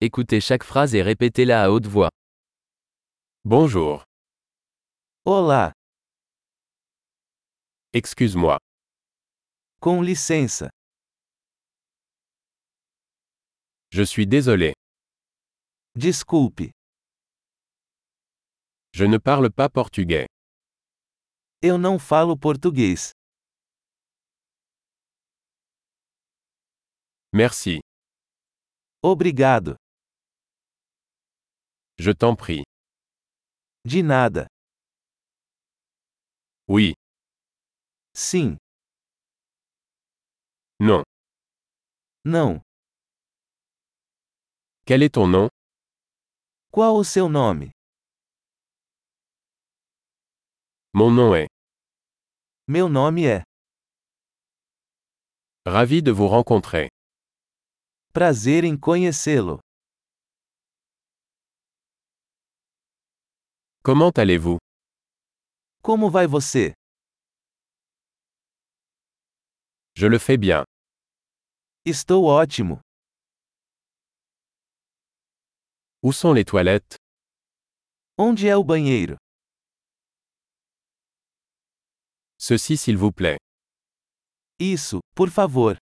Écoutez chaque phrase et répétez-la à haute voix. Bonjour. Olá, Excuse-moi. com licença. Je suis désolé. Desculpe, Je ne parle pas portugais. eu não falo português. Merci. Obrigado. Je t'en prie. De nada. Oui. Sim, Non. não. Quel est ton nom? Qual o seu nome? Mon nom est. Meu nome é. Ravi de vous rencontrer. Prazer em conhecê-lo. Comment allez-vous? Como vai você? Je le fais bien. Estou ótimo. Où sont les toilettes? Onde é o banheiro? Ceci s'il vous plaît. Isso, por favor.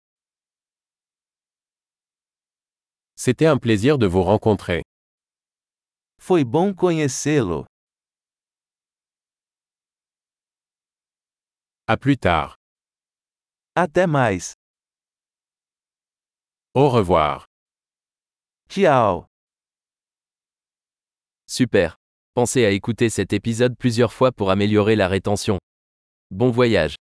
C'était un plaisir de vous rencontrer. Foi bom conhecê-lo. À plus tard. Até mais. Au revoir. Tchau. Super. Pensez à écouter cet épisode plusieurs fois pour améliorer la rétention. Bon voyage.